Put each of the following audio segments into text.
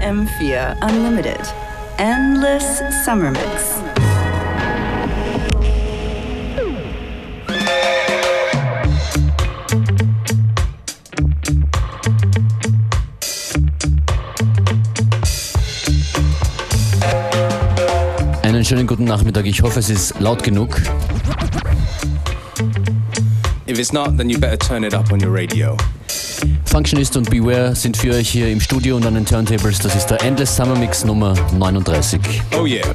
FM4 Unlimited. Endless Summer Mix. Einen schönen guten Nachmittag. Ich hoffe, es ist laut genug. If it's not, then you better turn it up on your radio. Functionist und Beware sind für euch hier im Studio und an den Turntables. Das ist der Endless Summer Mix Nummer 39. Oh yeah.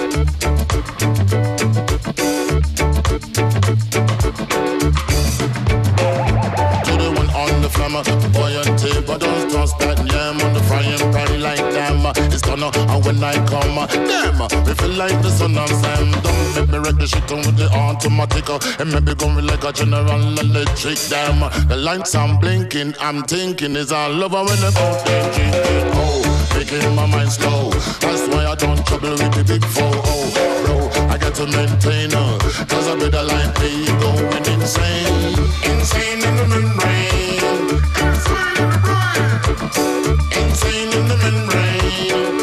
Buoyanty, but don't trust that yam on the frying pan like them. It's done, and when I come, damn, we feel like the son of Sam. Don't make me wreck the shit on with the automatic. And maybe going like a General Electric, damn. The lights I'm blinking, I'm thinking is all over when the fountain drinking. Oh, making my mind slow. That's why I don't trouble with the big four. Oh, bro, I got to maintain her. Cause I better like me going insane. Insane in the membrane. Insane in the membrane.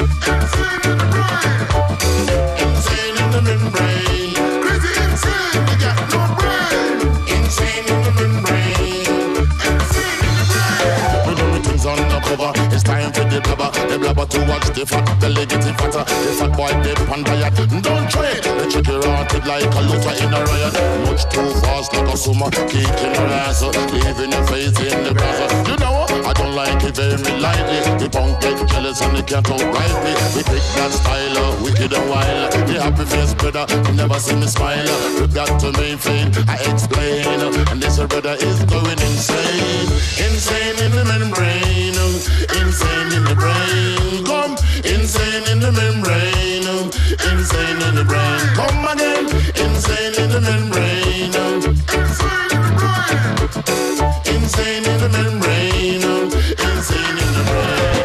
Insane in the membrane. Crazy insane, you got no brain. Insane in the membrane. Insane in the brain. We do things on the cover. It's time for the blabber to watch the fat belly getting fatter. The fat boy dip on diet. Don't trade. They check your hearted like a looter in a riot. Much too fast like a summer, kicking your ass, leaving your face in the plaza. You know I don't like it very lightly. The punk get jealous and they can't outright me. We pick that style, wicked and wild. The happy face brother, you never see me smile. You got to maintain, I explain. And this brother is going insane. Insane in the membrane. Insane in the brain. Come, insane in the membrane. Insane in the brain. Come again, insane in the membrane. Insane in the brain. Insane in the membrane. Insane in the brain.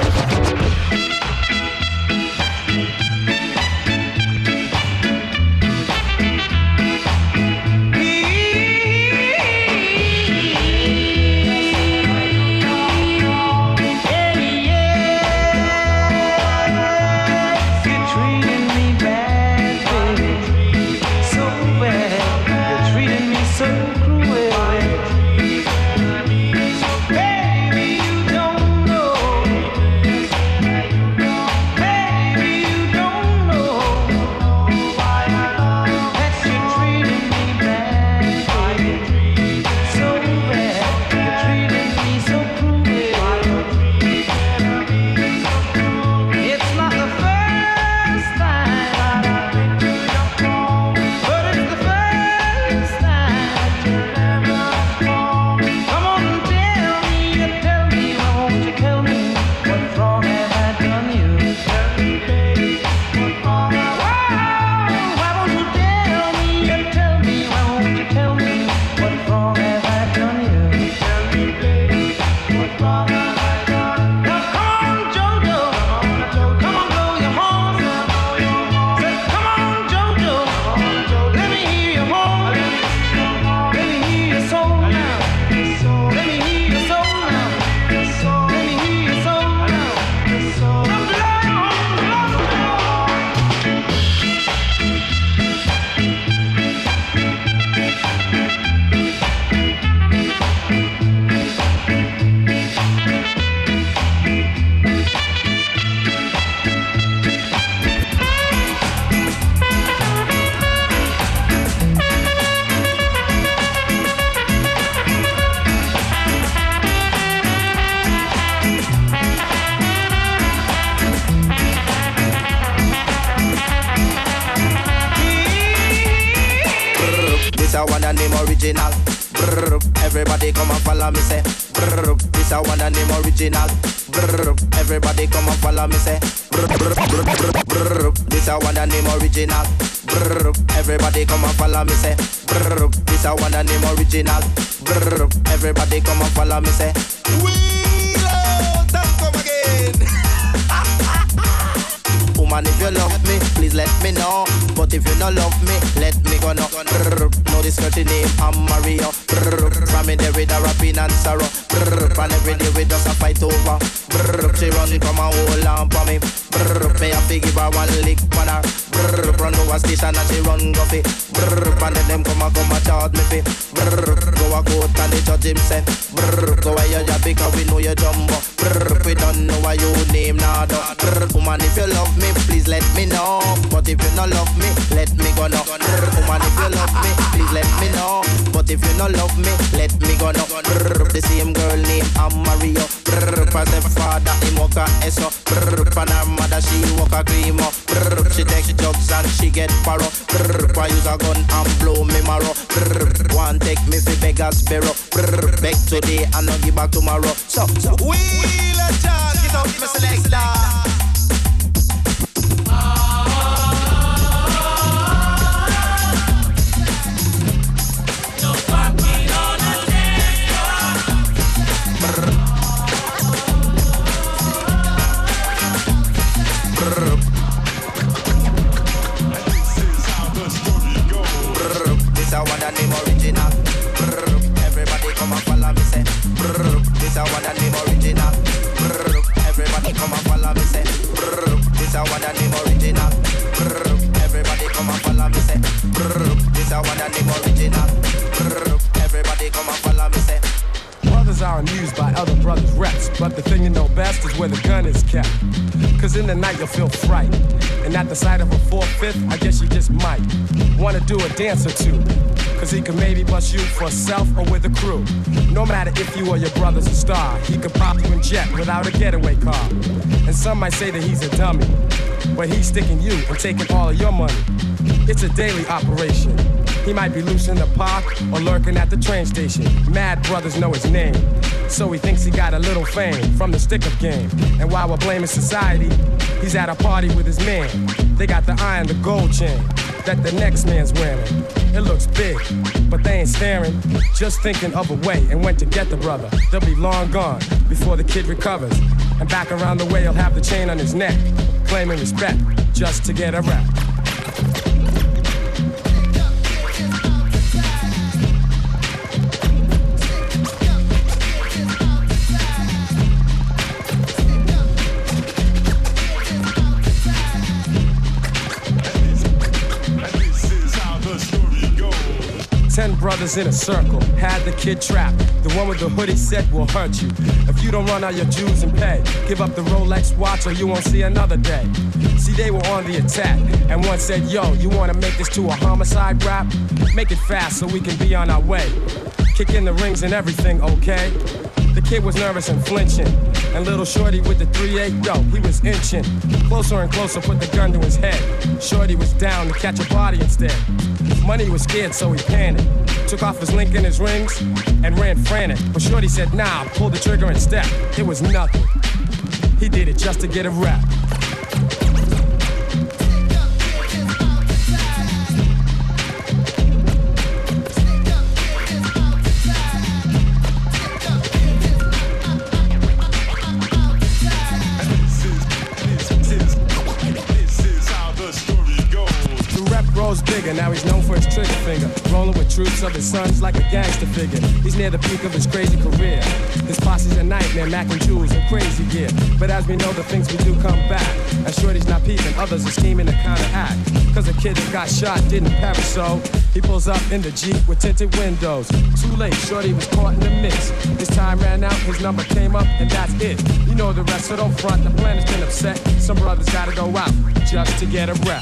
Original. Brr, everybody come and follow me say. Brr, this a one and name original. Brr, everybody come and follow me say. Brr, brr, brr, brr, brr, this a one and name original. Brr, everybody come and follow me say. Brr, this a one and name original. Brr, everybody come and follow me say. Woman, if you love me, please let me know. But if you no love me, let me go no. Know this girl name, I'm Mario. From me there with a rapping and sorrow. And every day we just a fight over. She run from a whole lamp for me. Me have to give her one lick on her. Run over station and she run guffy. And then them come a charge me fi. Go a court and the judge him say. Go where you job because we know you jumbo. We don't know why you name nada. Woman if you love me, please let me know. But if you not love me, let me go no. Woman if you love me, please let me know. But if you not love me, let me go no. The same girl named Mario. For the father, he walk a eso. For her mother, she walk a grimo. She take drugs and she get paro. For use a gun and blow me marrow. One take me fi beg a sparrow. Beg today and not give back tomorrow. So we let's just get up, me selector. Everybody come and follow me say. This a one and name original. Everybody come and follow me say. This a one and name original. Everybody come and follow me say. This a one and name original. Everybody come and follow me say. Brothers are amused by other brothers' reps, but the thing you know best is where the gun is kept. Cause in the night you'll feel fright, and at the sight of a 4/5, I guess you just might wanna do a dance or two. Cause he could maybe bust you for self or with a crew. No matter if you or your brother's a star, he could pop you in jet without a getaway car. And some might say that he's a dummy, but he's sticking you and taking all of your money. It's a daily operation. He might be loose in the park or lurking at the train station. Mad brothers know his name, so he thinks he got a little fame from the stick-up game. And while we're blaming society, he's at a party with his man. They got the eye and the gold chain that the next man's wearing. It looks big, but they ain't staring, just thinking of a way and when to get the brother. They'll be long gone before the kid recovers, and back around the way he'll have the chain on his neck, claiming respect just to get a rap. 10 brothers in a circle, had the kid trapped. The one with the hoodie said will hurt you. If you don't run out your dues and pay, give up the Rolex watch or you won't see another day. See, they were on the attack, and one said, yo, you wanna make this to a homicide rap? Make it fast so we can be on our way. Kick in the rings and everything, okay? The kid was nervous and flinching, and little shorty with the 3-8, yo, he was inching. Closer and closer, put the gun to his head. Shorty was down to catch a body instead. Money was scared, so he panicked. Took off his link and his rings, and ran frantic. But shorty said, nah, pull the trigger and step. It was nothing. He did it just to get a rap. Bigger. Now he's known for his trigger finger, rolling with troops of his sons like a gangster figure. He's near the peak of his crazy career. His posse's a nightmare, Mac and Jules and crazy gear. But as we know, the things we do come back. And shorty's not peeping, others are scheming to counteract. Cause a kid that got shot didn't perish, so he pulls up in the Jeep with tinted windows. Too late, shorty was caught in the mix. His time ran out, his number came up, and that's it. You know the rest, so don't front, the plan has been upset. Some brothers gotta go out just to get a rap.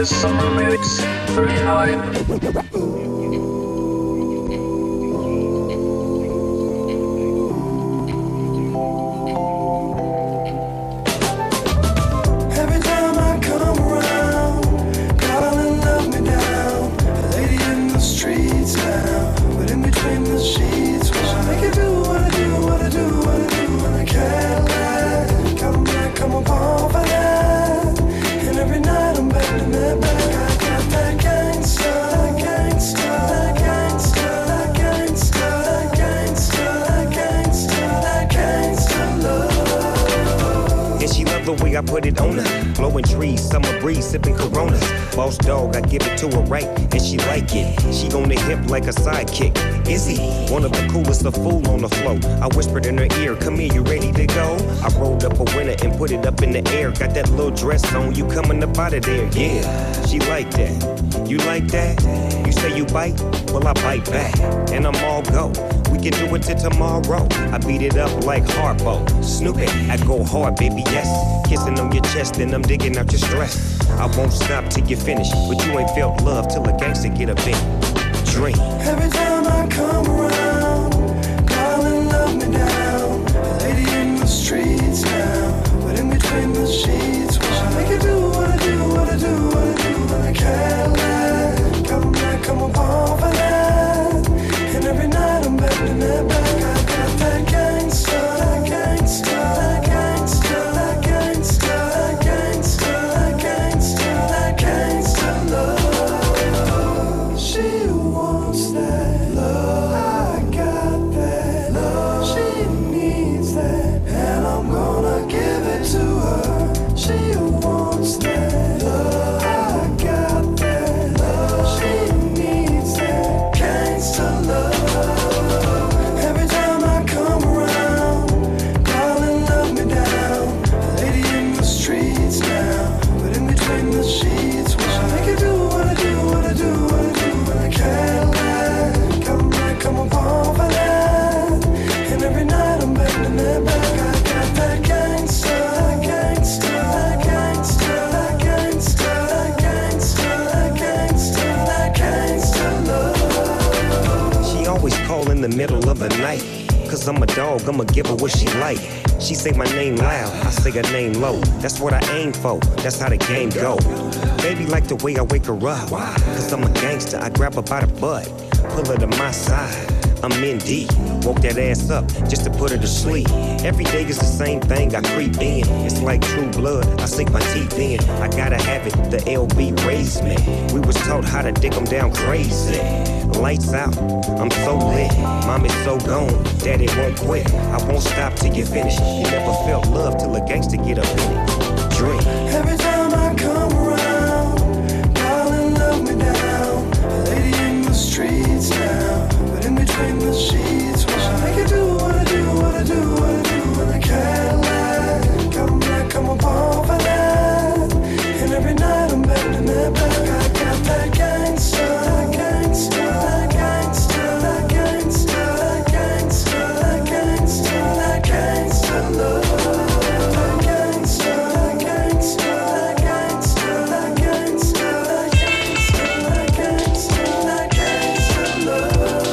Endless Summer Mix 39. I put it on her. Blowing trees, summer breeze, sipping Coronas. Boss dog, I give it to her right, and she like it. She on the hip like a sidekick. Izzy, one of the coolest, a fool on the floor. I whispered in her ear, come here, you ready to go? I rolled up a winner and put it up in the air. Got that little dress on, you coming up out of there, yeah. She like that. You like that? You say you bite? Well, I bite back, and I'm all go. We can do it till tomorrow. I beat it up like Harpo. Snoopy, I go hard, baby, yes. Kissing on your chest and I'm digging out your stress. I won't stop till you finish, but you ain't felt love till a gangster get a big drink. Every time I come around, darling, love me down. A lady in the streets now, but in between the sheets, why make you do what I do, what I do, what I do when I can't lie. Come back, come upon for that. And every night I'm bending that back. I got that gangsta, that gangsta, that gangsta, that gangsta, that gangsta, that gangsta, that gangsta love. She wants that love. I got that love. She needs that, and I'm gonna give it to her. She wants that love. I got that love. She needs that gangsta love. Every time I come around, darling, love me down. A lady in the streets now, but in between the sheets, why make you do what I do, what I do, what I do when I can't lie. Come back, come upon for that. And every night I'm bending that back. I got that gangsta, that gangsta, that gangsta, that gangsta, that gangsta, that gangsta, that gangsta love. She always call in the middle of the night. Cause I'm a dog, I'ma give her what she like. She say my name loud, I say her name low. That's what I aim for, that's how the game go. Baby like the way I wake her up. Cause I'm a gangster, I grab her by the butt, pull her to my side. I'm in deep, woke that ass up just to put her to sleep. Every day is the same thing, I creep in. It's like true blood, I sink my teeth in. I gotta have it, the LB raised me. We was taught how to dig them down crazy. Lights out, I'm so lit. Mom is so gone, daddy won't quit. I won't stop till you finish. You never felt love till a gangster get up in it. Drink. Every time I come around, darling, love me down. A lady in the streets now, but in between the sheets, why make you do what I do, what I do, what I do when I can't lie. Come back, come upon for that. And every night I'm bending that back. I got that gangsta, that gangsta, that gangsta, that gangsta, that gangsta, that gangsta, that gangsta love. That gangsta, that gangsta, that gangsta, that gangsta, that gangsta, that gangsta, that gangsta love.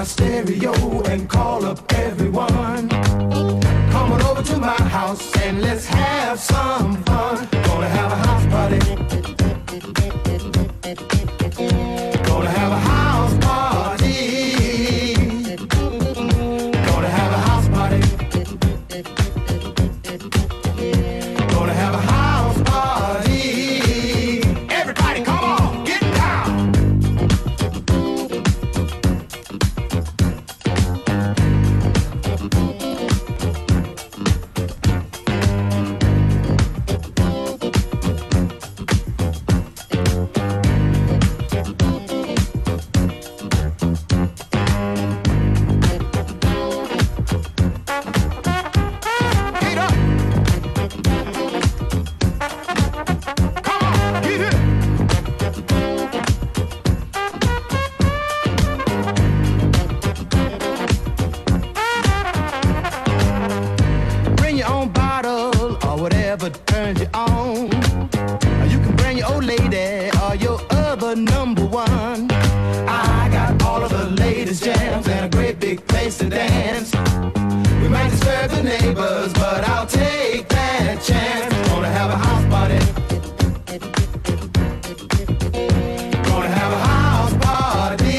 my stereo and call up everyone. Come on over to my house and let's have some fun. Gonna have a house party. Gonna have a house party. Gonna have a house party. Gonna have a house party. Everybody come on, get down. Bring your own bottle or whatever turns you on. You can bring your old lady or your other number one. I got all of the latest jams and a great big place to dance. We might disturb the neighbors, but I'll take that chance. Gonna have a house party. Gonna have a house party.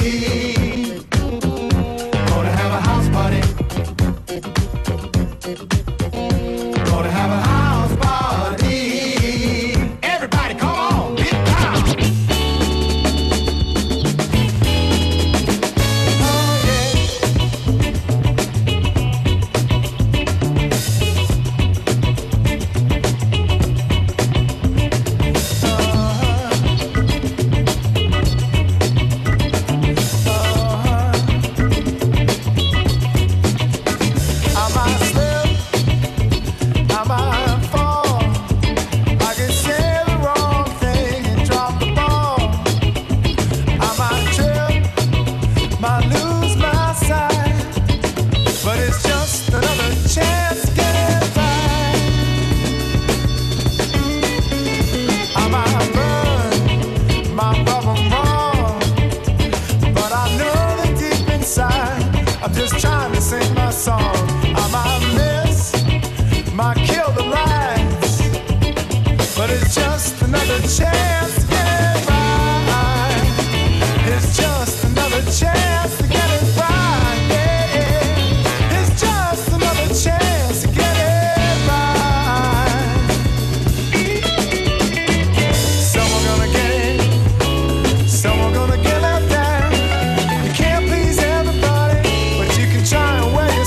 Gonna have a house party. Gonna have a house party. Everybody come on, get down. Oh yeah. I might slip, I might fall. I could say the wrong thing and drop the ball. I might trip, might lose my sight, but it's just another chance to get it right. I might run, might rub 'em wrong, but I know that deep inside I'm just trying to sing my song. I might miss, might kill the lights, but it's just another chance to get it right. It's just another chance to get it right. Yeah, yeah. It's just another chance to get it right. Someone gonna get it, someone gonna get left down. You can't please everybody, but you can try and wear your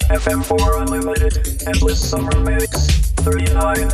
FM4 Unlimited, Endless Summer Mix 39.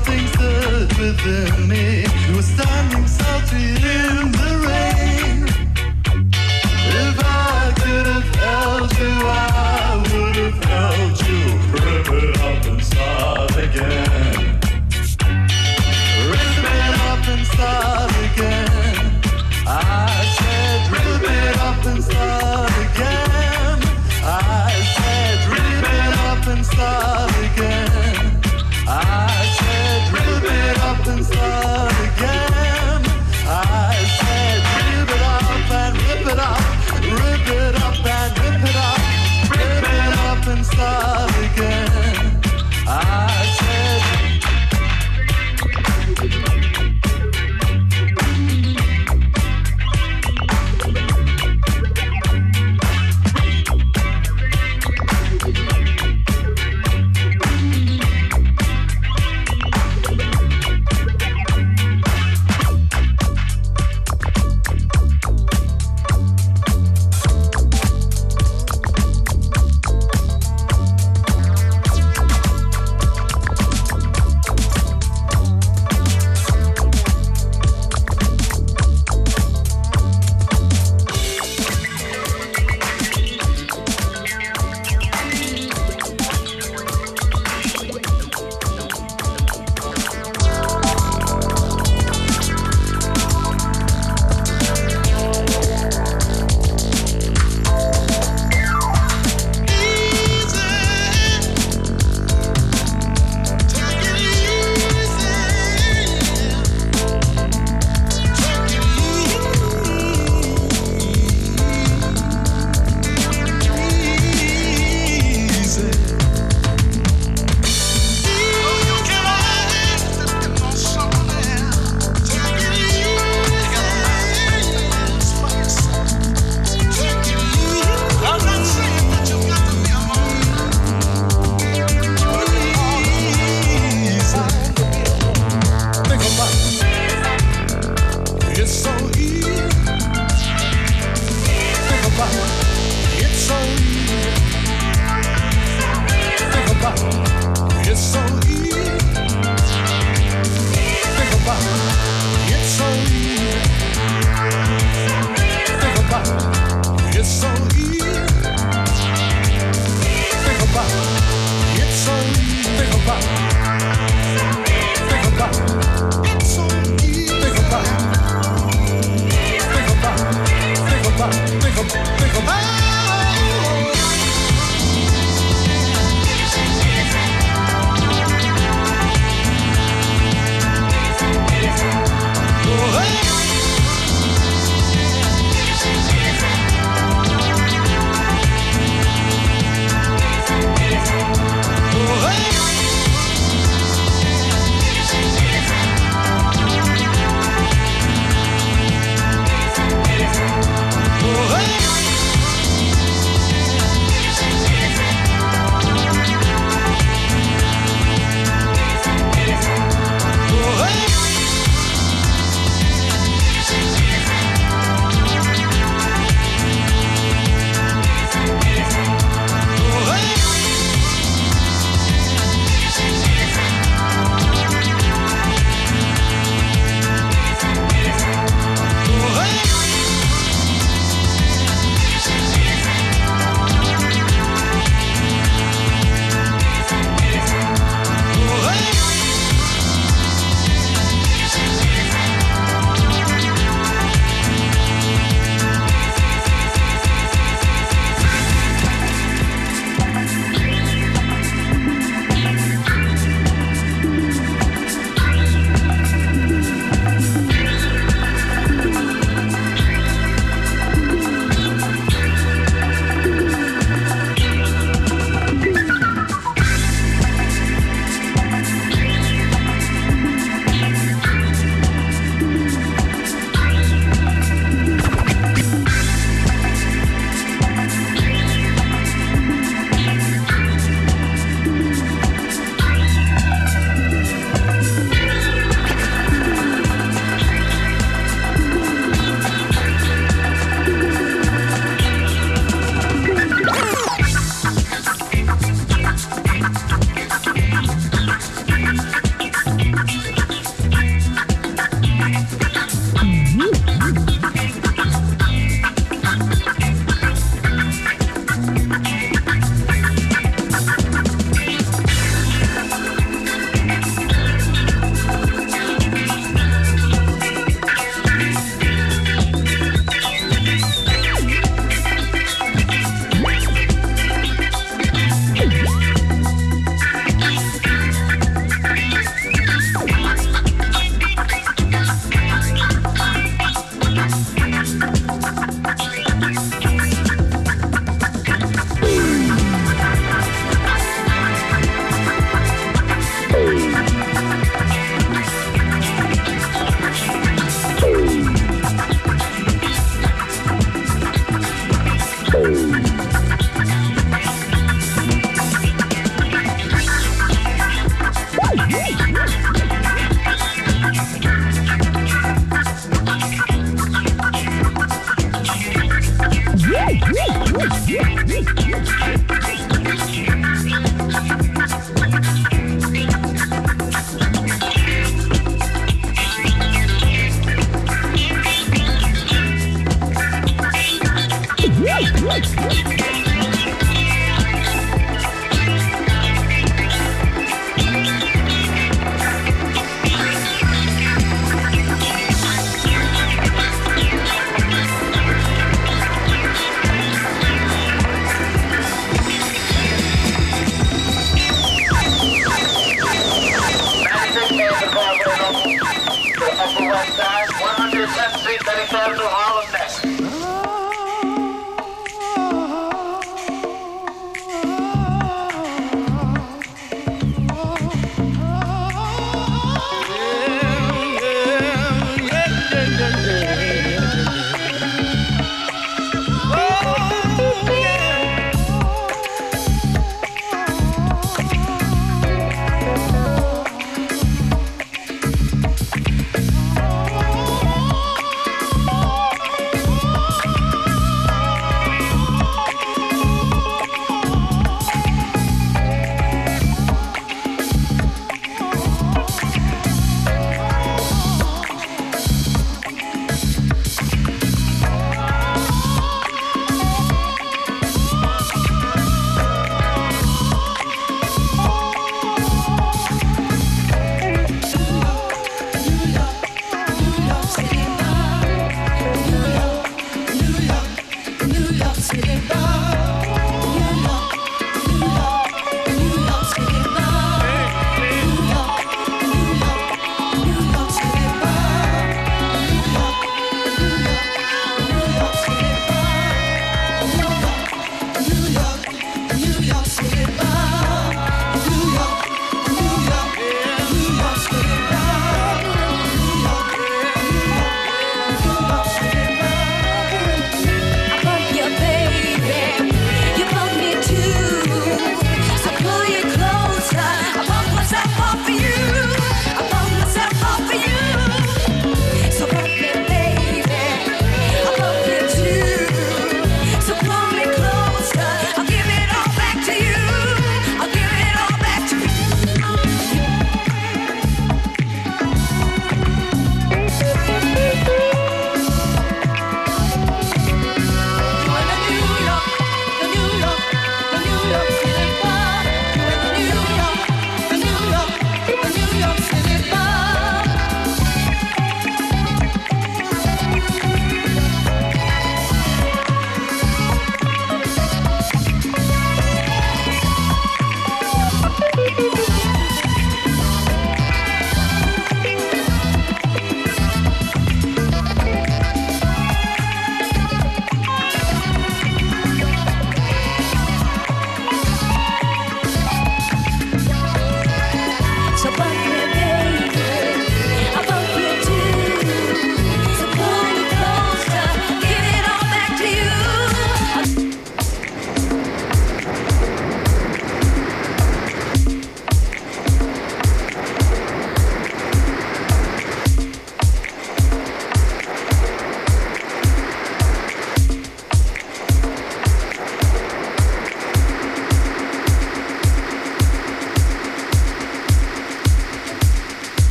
something stirred within me. You were standing salty in the